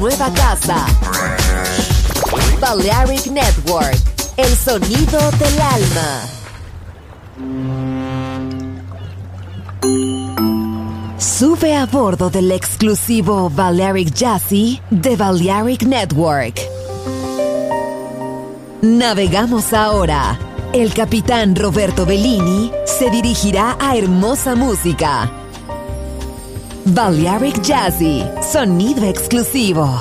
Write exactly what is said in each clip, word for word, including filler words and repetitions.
nueva casa. Balearic Network, el sonido del alma. Sube a bordo del exclusivo Balearic Jazzy de Balearic Network. Navegamos ahora. El capitán Roberto Bellini se dirigirá a hermosa música. Balearic Jazzy, sonido exclusivo.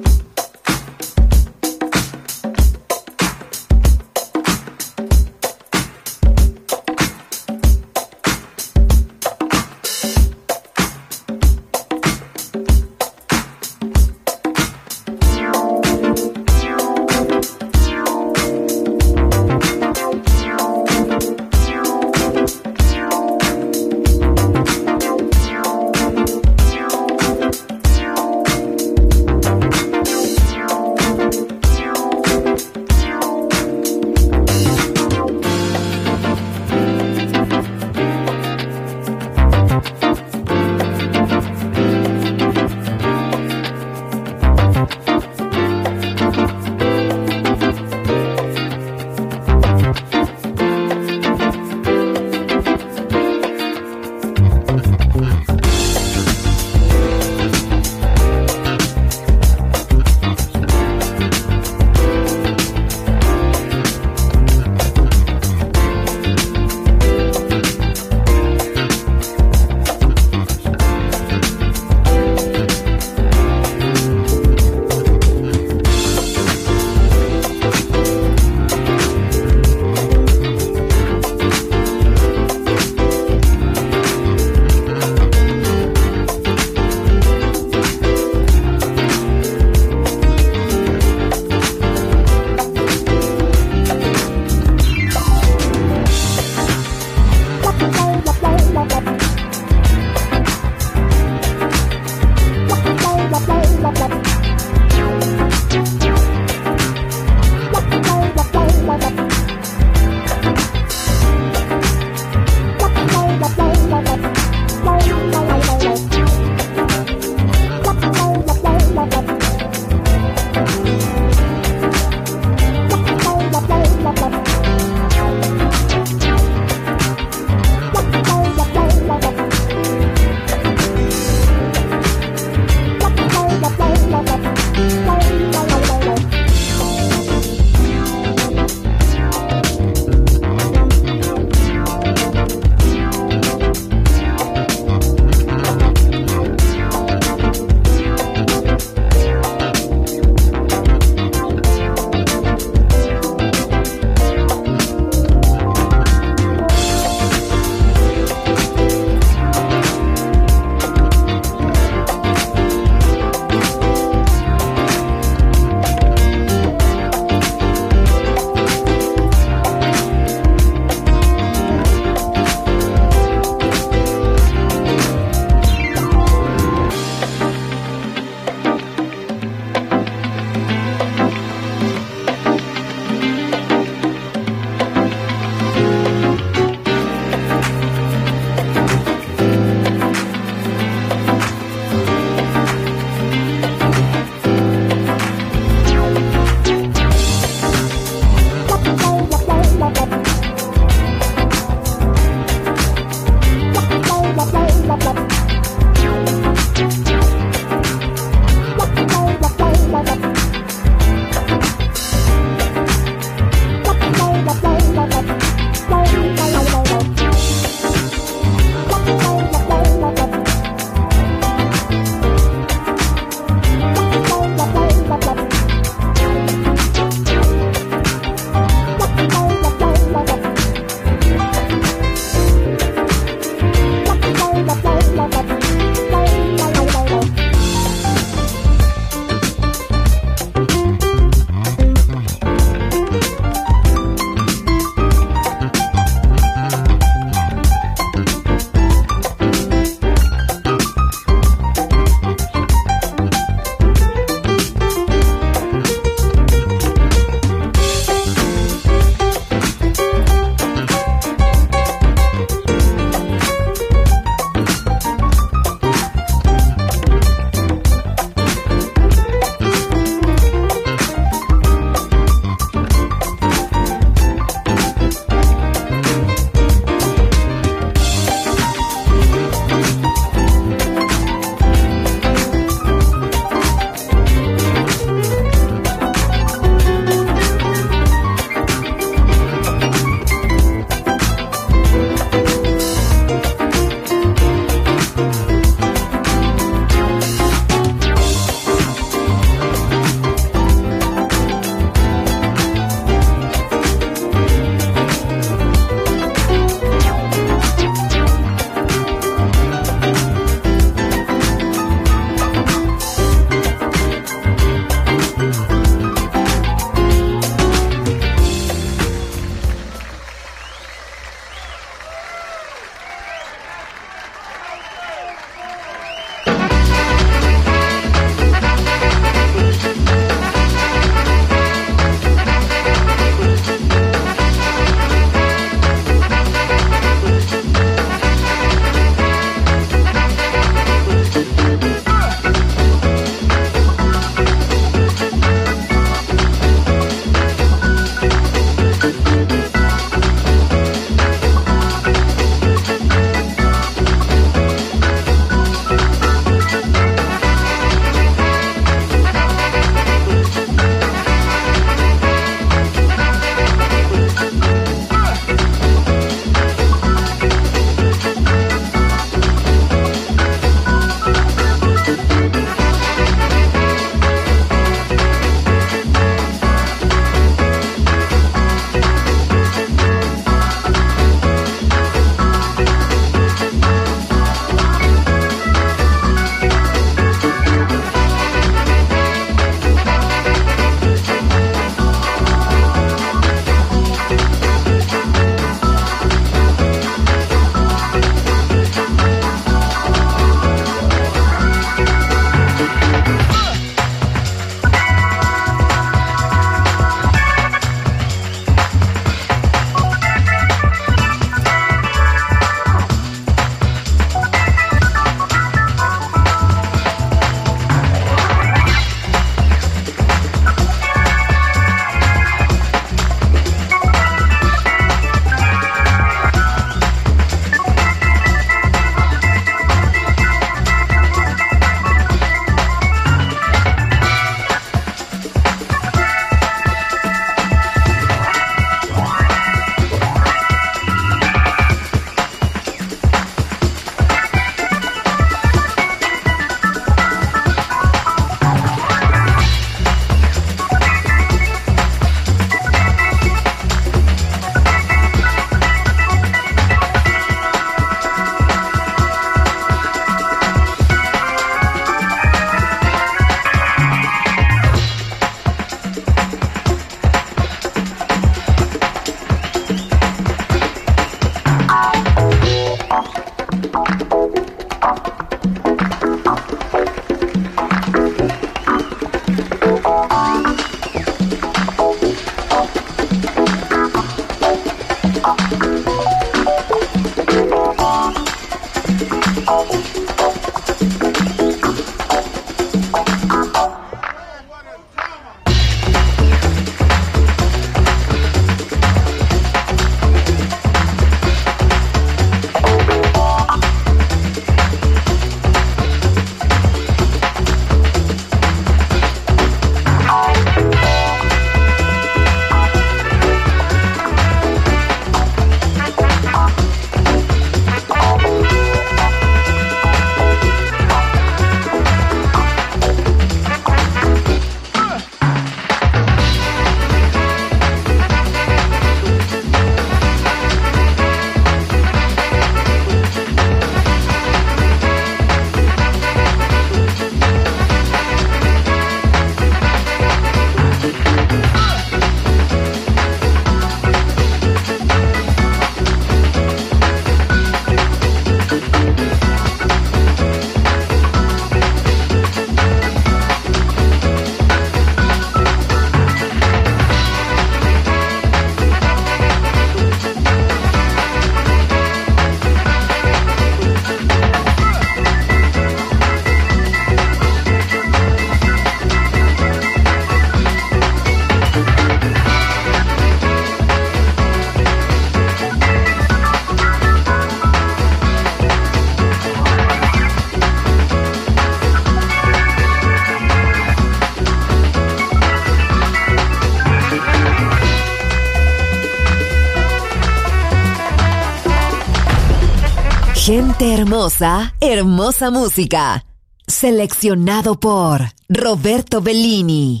Gente hermosa, hermosa música. Seleccionado por Roberto Bellini.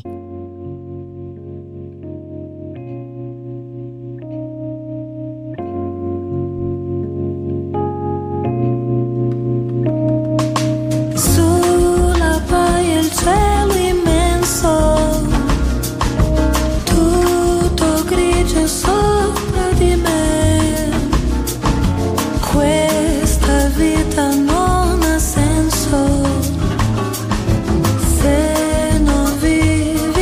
Sulla baia il cielo immenso, tutto grigio sopra di me. Questa vita non ha senso se non vivi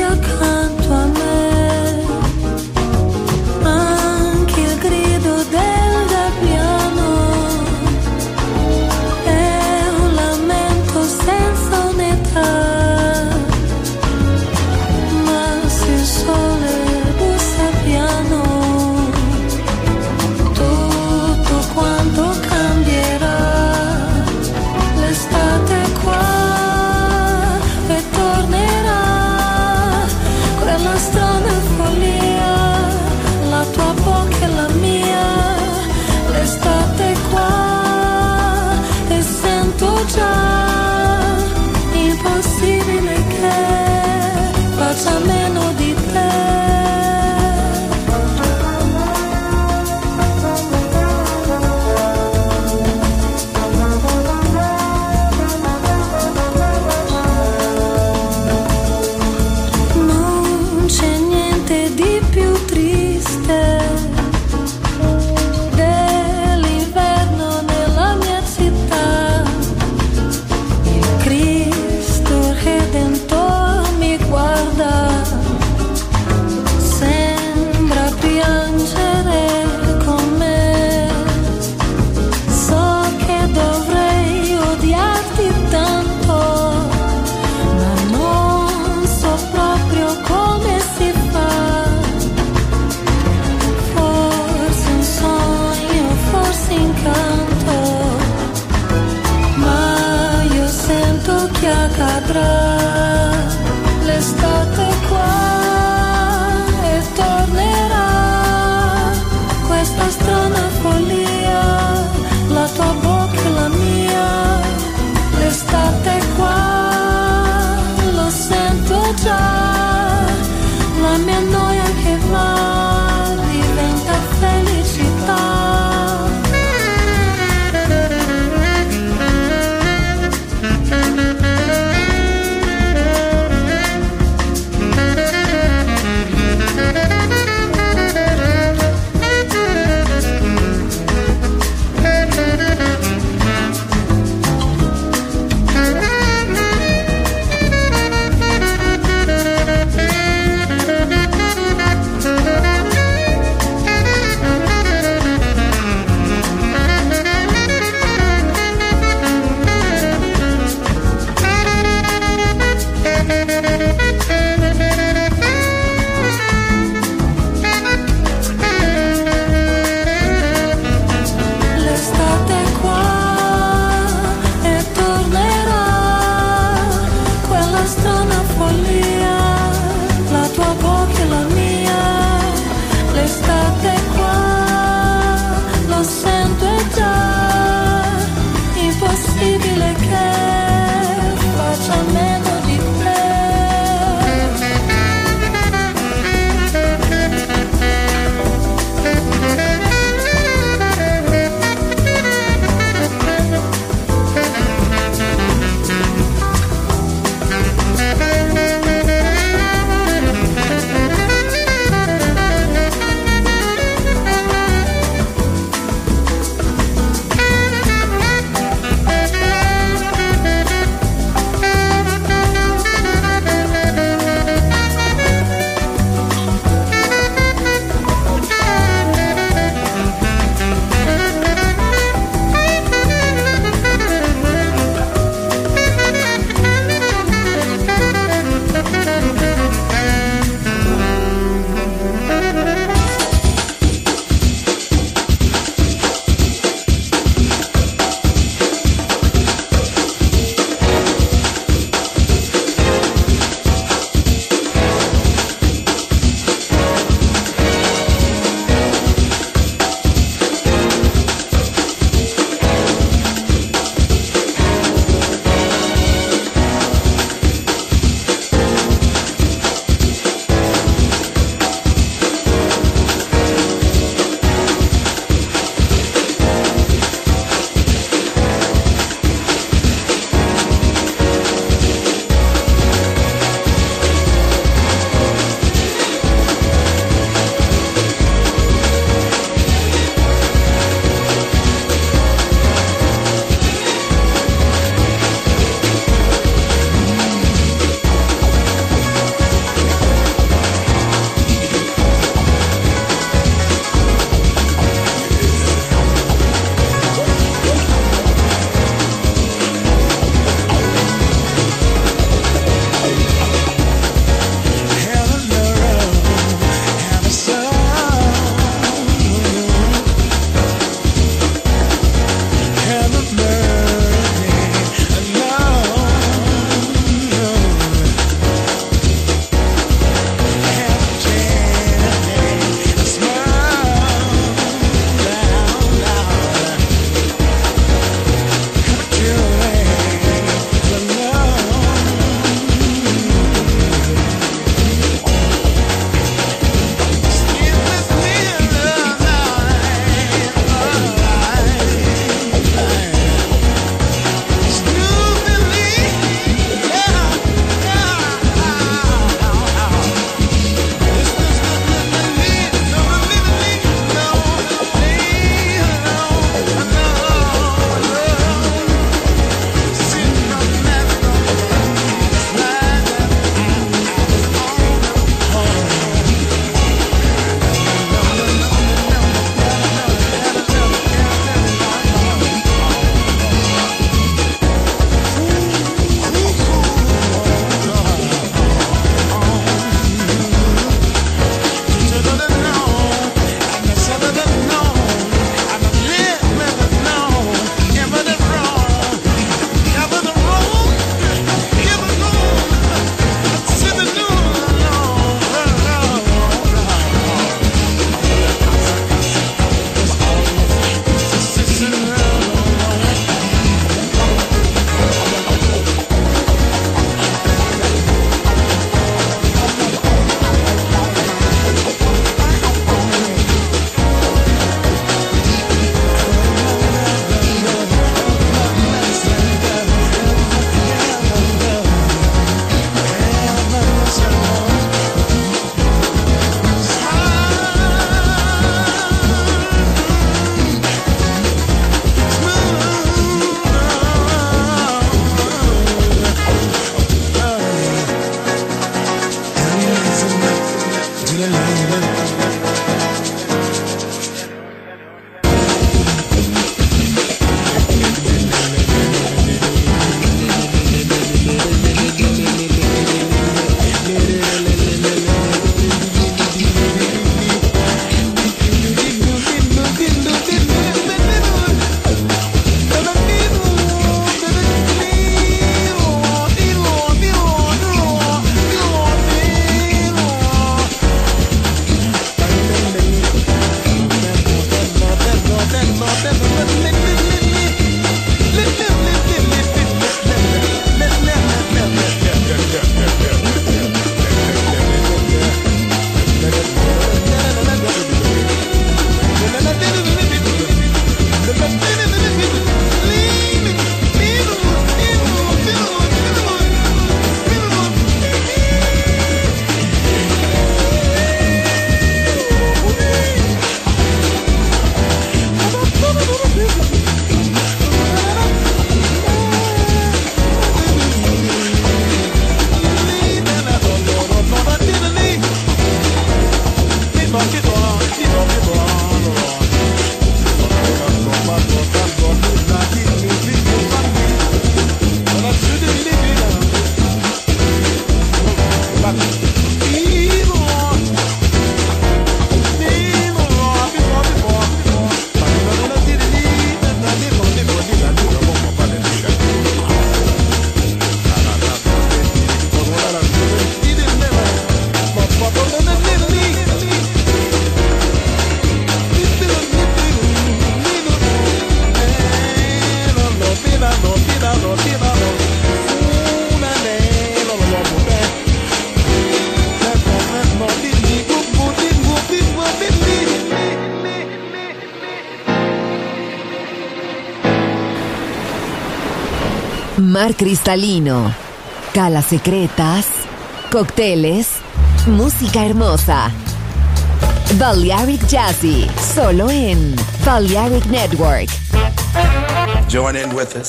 mar cristalino, calas secretas, cócteles, música hermosa. Balearic Jazzy, solo en Balearic Network. Join in with us.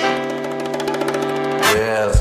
Yes.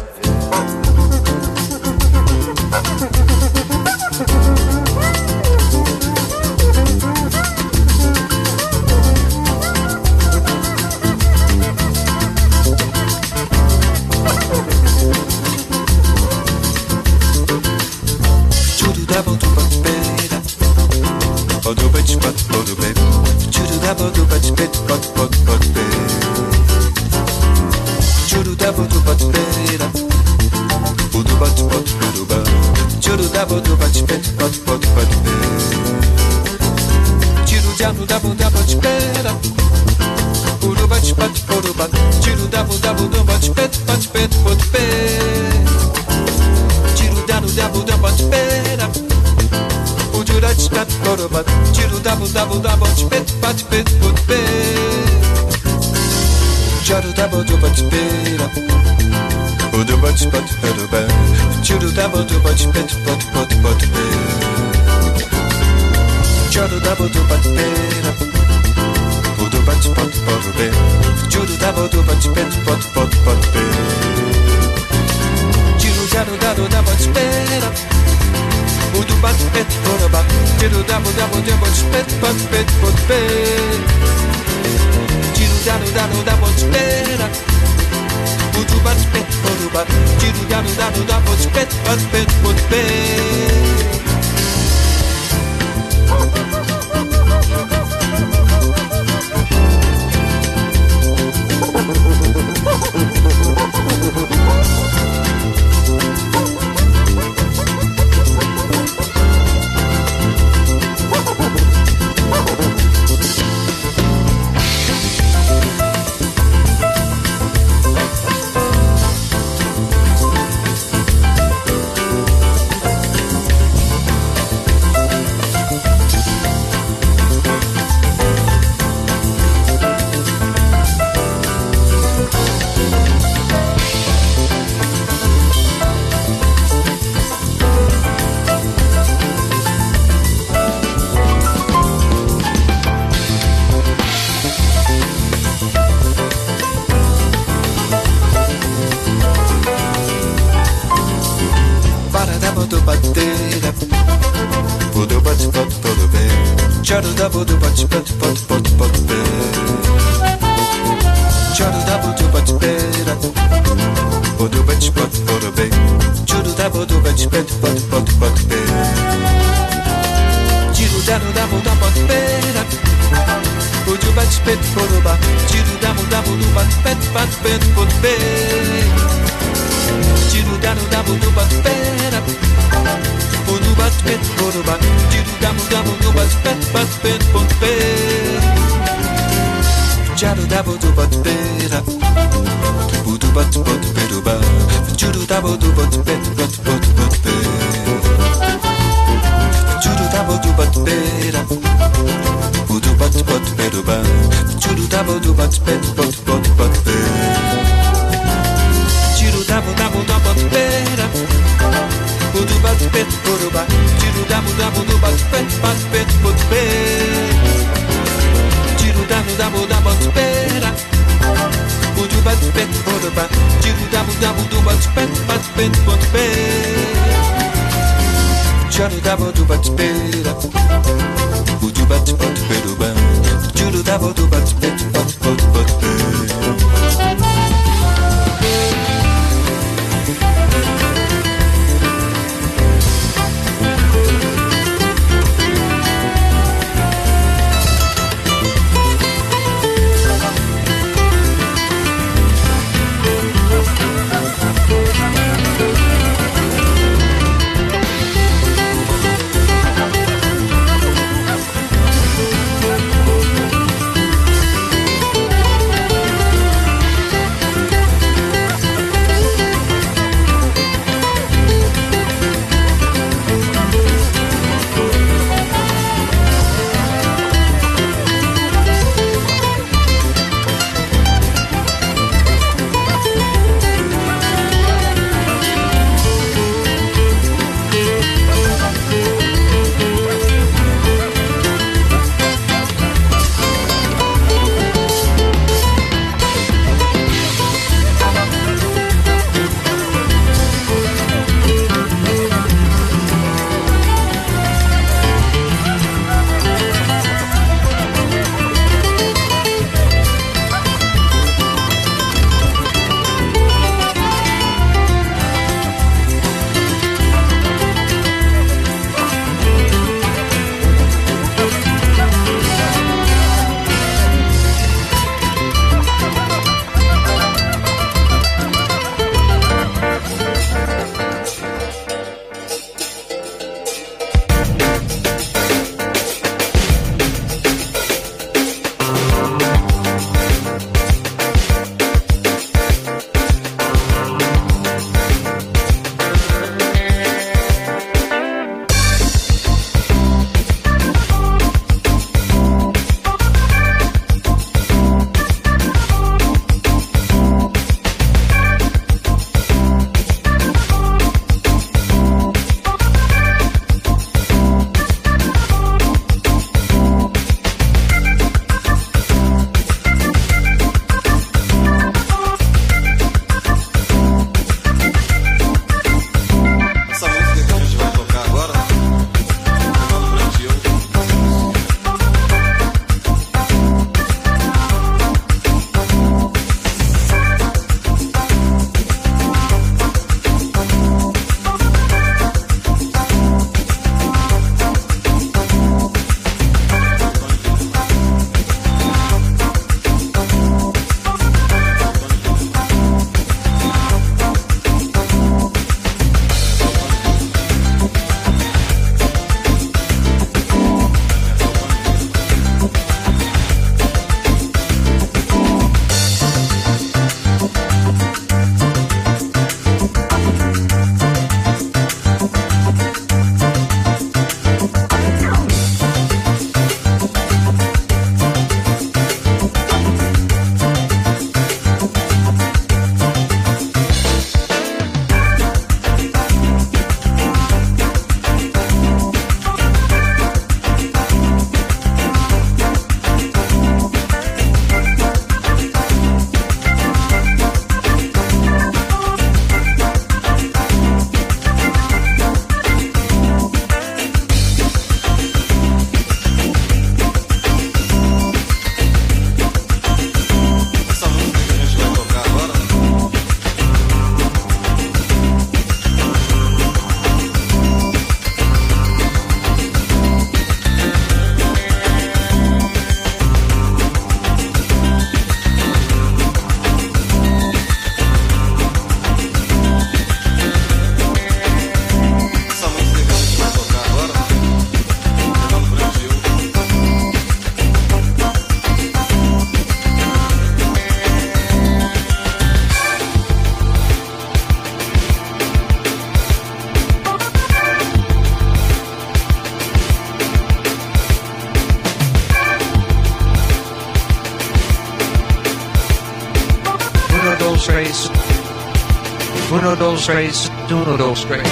Uno, dos, tres, uno, dos, tres.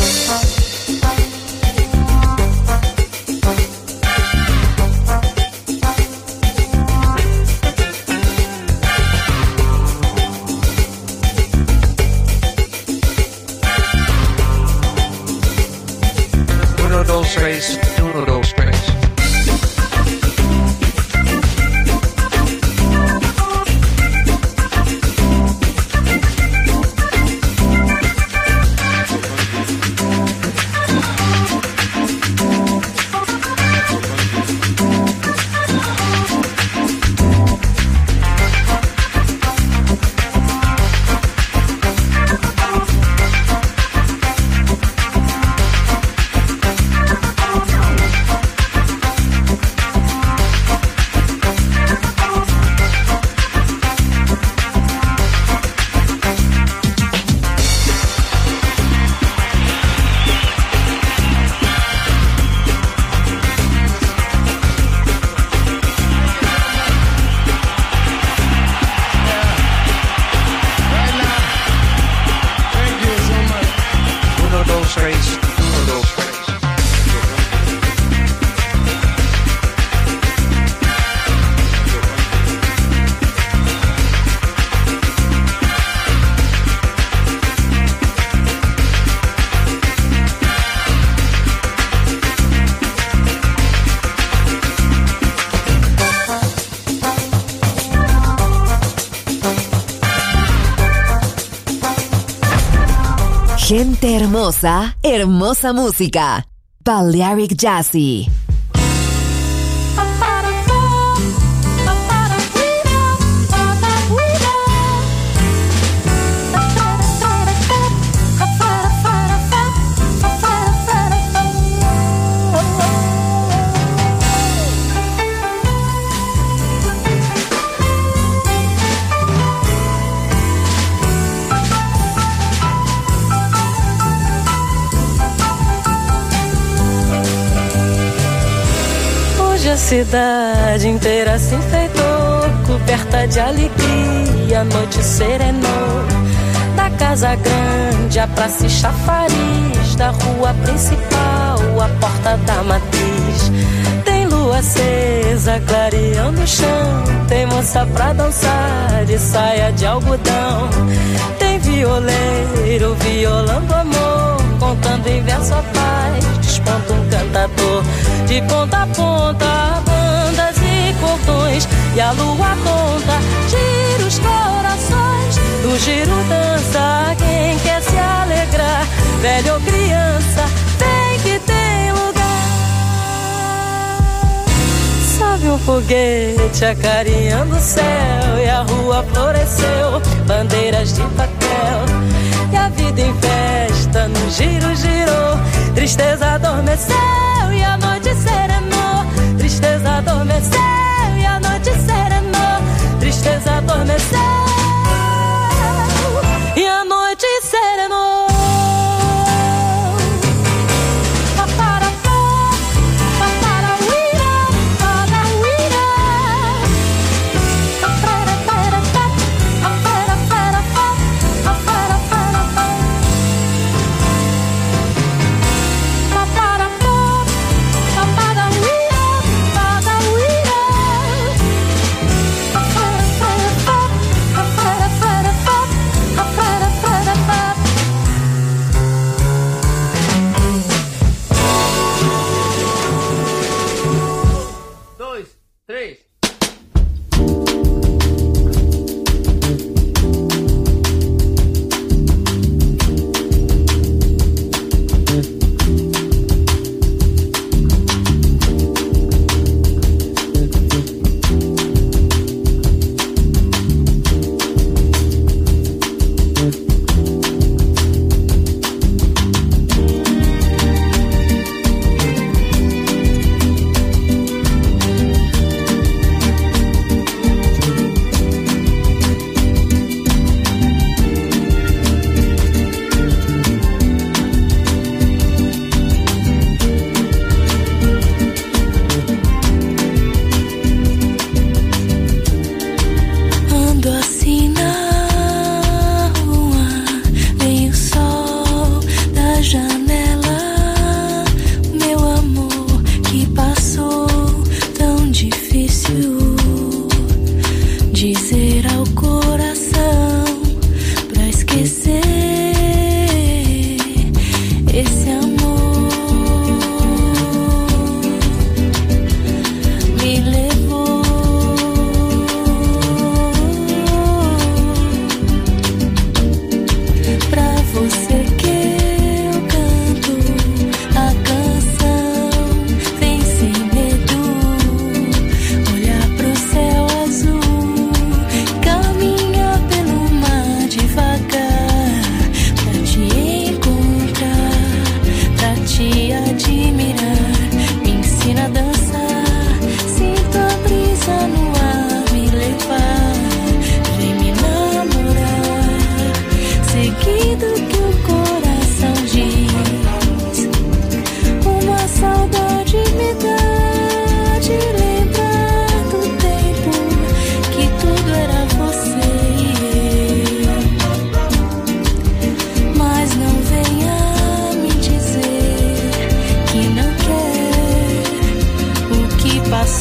Uno, dos, tres, uno, dos, tres. Gente hermosa, hermosa música. Balearic Jazzy. A cidade inteira se enfeitou, coberta de alegria, a noite serenou. Da casa grande, a praça e chafariz, da rua principal, a porta da matriz. Tem lua acesa, clareando o chão, tem moça pra dançar de saia de algodão. Tem violeiro violando amor, contando em verso a paz, desponta um cantador. De ponta a ponta, bandas e cordões, e a lua conta, gira os corações. No giro dança quem quer se alegrar, velho ou criança, tem que tem lugar. Sobe um foguete acarinhando o céu, e a rua floresceu, bandeiras de papel. E a vida em festa no giro girou, tristeza adormeceu e a noite serenou. Tristeza adormeceu e a noite serenou. Tristeza adormeceu e a noite serenou.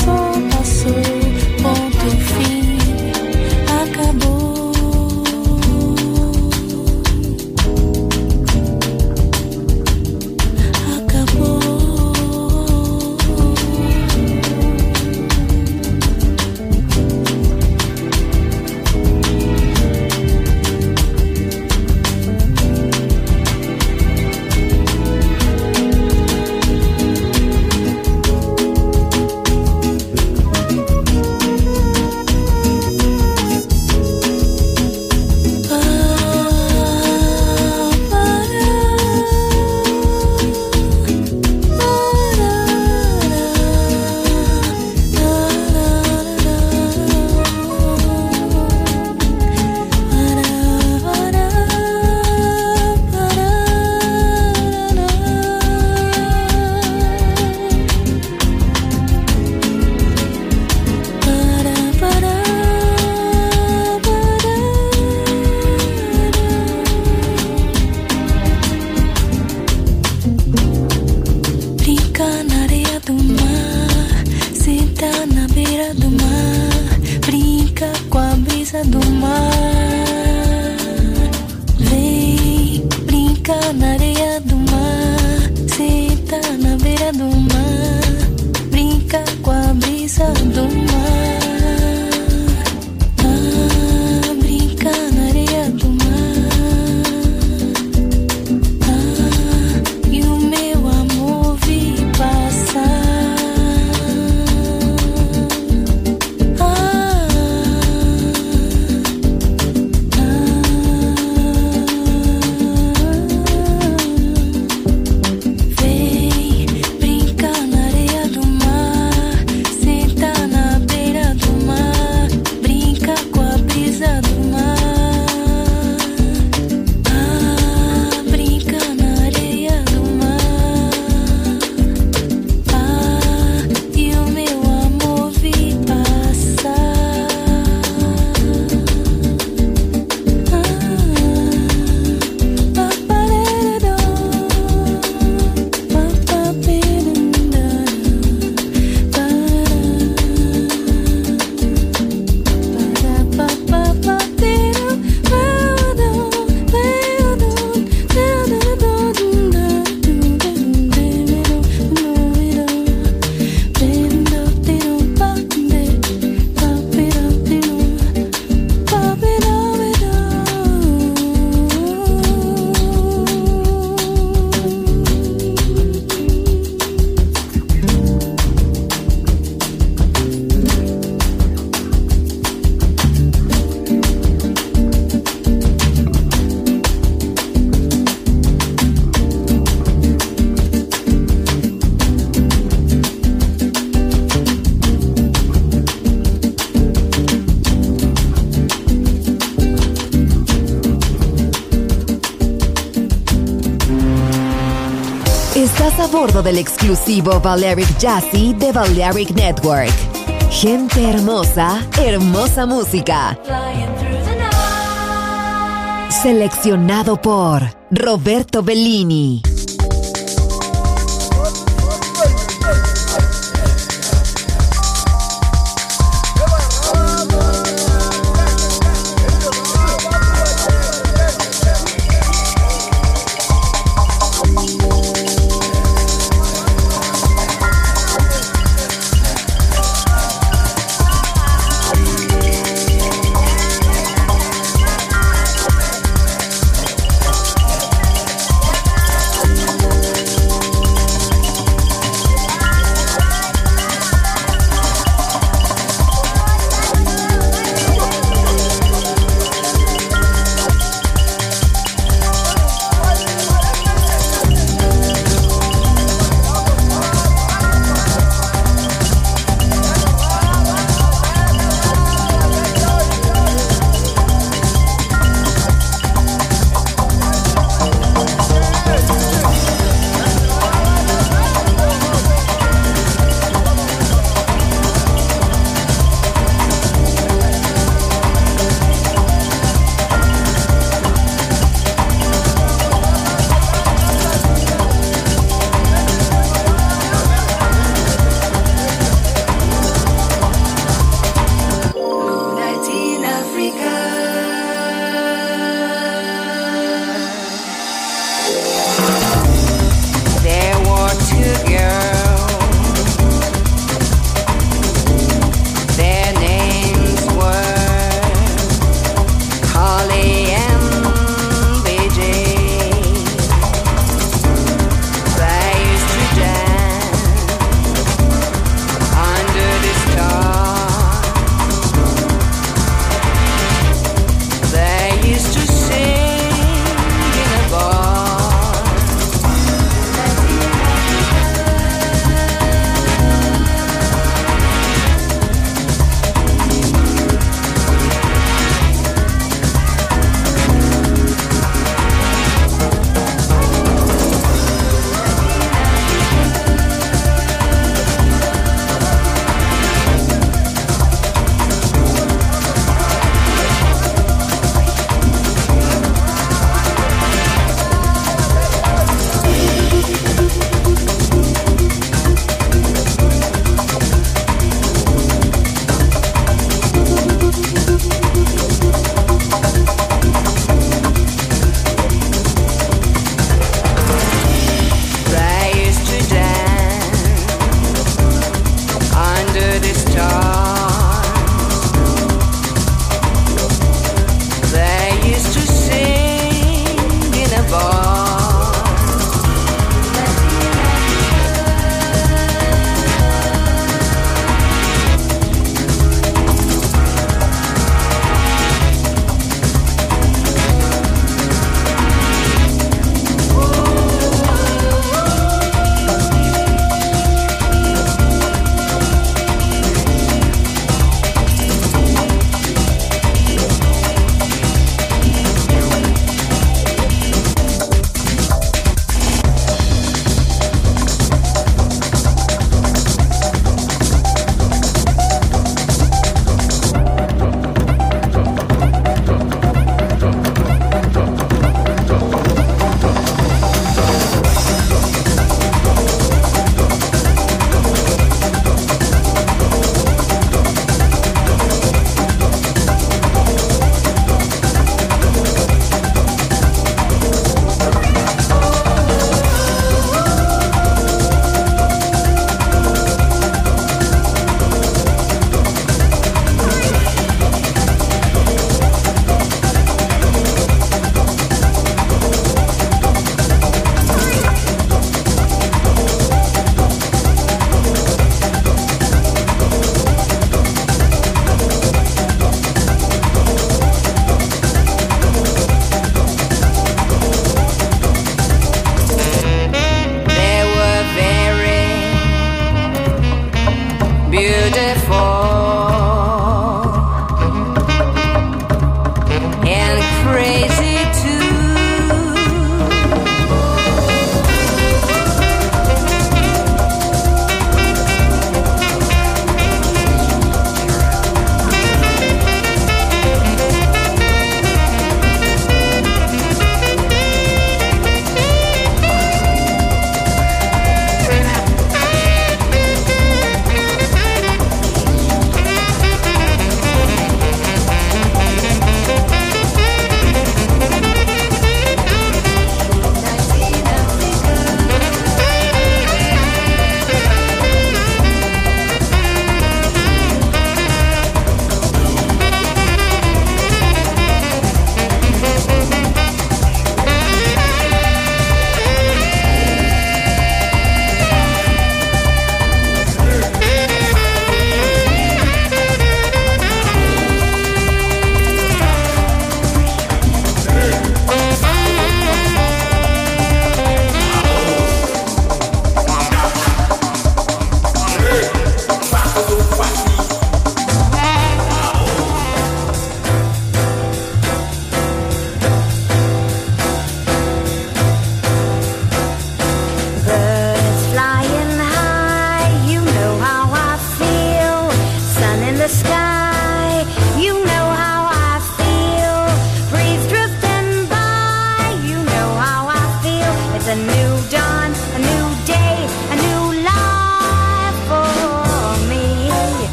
passou, passou, ponto fim, acabou. Acabou. Estás a bordo del exclusivo Balearic Jazzy de Balearic Network. Gente hermosa, hermosa música. Seleccionado por Roberto Bellini.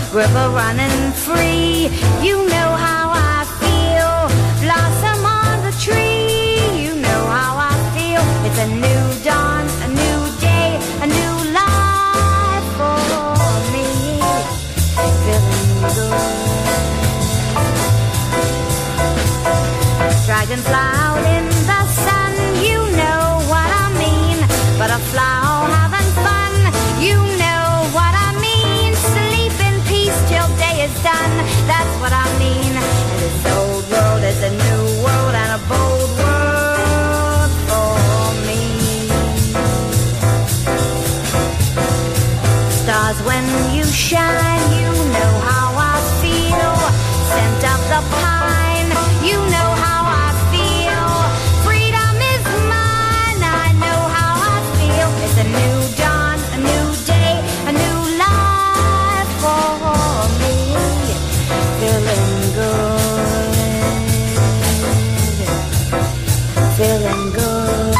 river running free. You know how I feel, blossom on the tree. You know how I feel, it's a new dawn, a new day, a new life for me. Feeling good. Dragonfly out in the sun, you know what I mean. Butterfly all having fun, you know what I mean. Sleep in peace till day is done, that's what I mean. And this old world is a new world and a bold world for me. Stars, when you shine, you know how I feel. Scent of the pine, you know how I feel. Freedom is mine, I know how I feel. It's a new dawn, a new day, a new life for me. Feeling good, feeling good,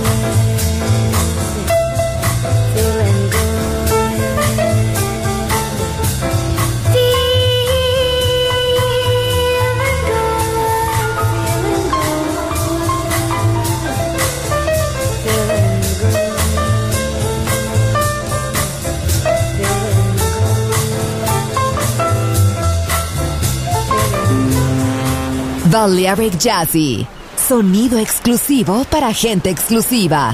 feeling good, feeling Balearic Jazzy, sonido exclusivo para gente exclusiva.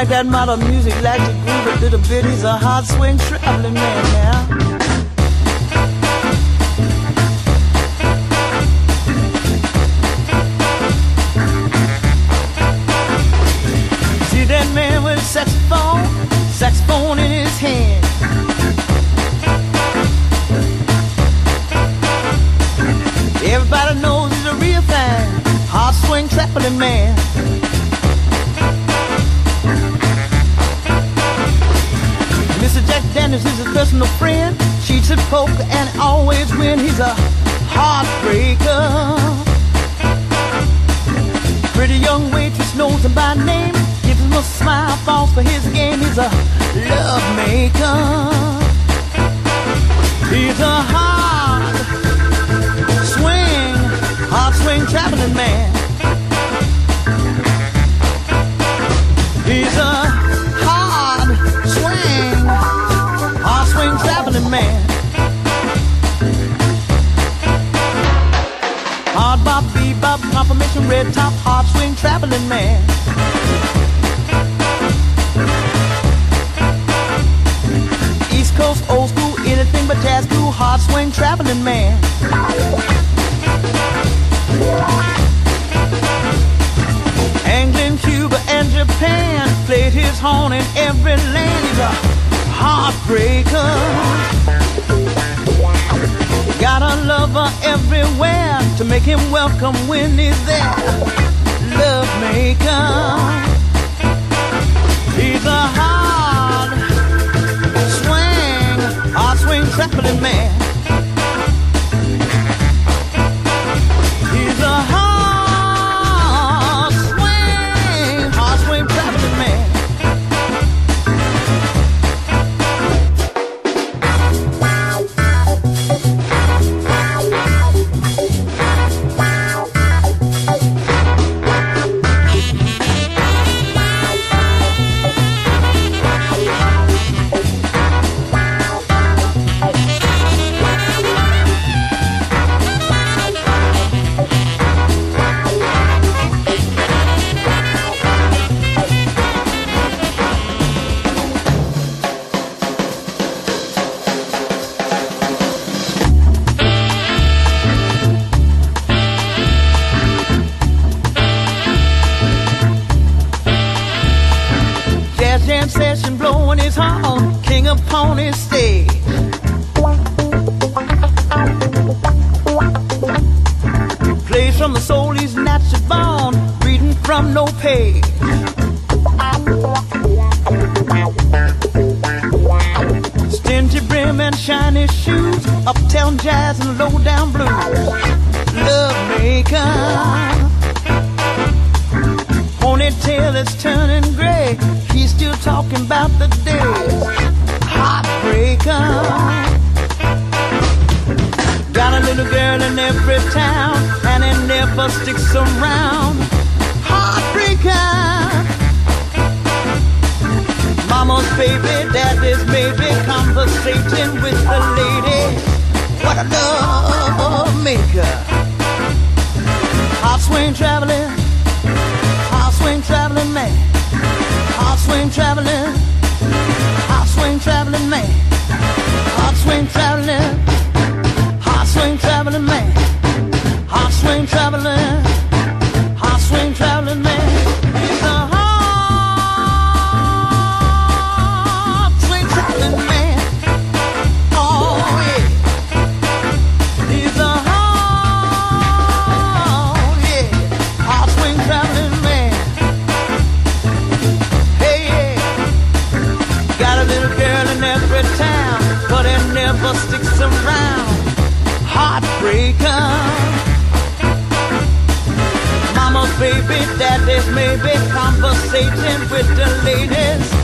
like that modern music, like to groove a little bit. He's a hard swing traveling man now. See that man with saxophone, saxophone in his hand. Everybody knows he's a real fan, hard swing traveling man. Mister Jack Daniels is his personal friend, cheats at poker and always win. He's a heartbreaker. Pretty young waitress knows him by name, gives him a smile, falls for his game. He's a love maker. He's a hard swing, hard swing traveling man. He's a hard swing, hard swing traveling man. Hard bop, bebop, confirmation, red top, hard swing traveling man. East Coast, old school, anything but jazz, cool, hard swing traveling man. England, Cuba, and Japan played his horn in every land. He's a heartbreaker. Got a lover everywhere to make him welcome when he's there. Love maker. He's a hard swing, hard swing traveling man. He's a hard swing, hard swing traveling man. Session blowing his horn, king upon his stage. Plays from the soul he's naturally born, reading from no page. Stingy brim and shiny shoes, uptown jazz and low down blues. Love maker. Ponytail is turning gray, he's still talking about the days. Heartbreaker. Got a little girl in every town, and it never sticks around. Heartbreaker. Mama's baby, daddy's maybe, conversating with the lady. What a love maker. Hot swing traveling, hot swing traveling man. Hot swing traveling, hot swing traveling man. Hot swing traveling, hot swing traveling man. Hot swing traveling, hot swing traveling man. He's a hot swing traveling man. Oh yeah. He's a hot, yeah, hot swing traveling man. Every town, but it never sticks around. Heartbreaker. Mama's baby, daddy's maybe, conversating with the ladies.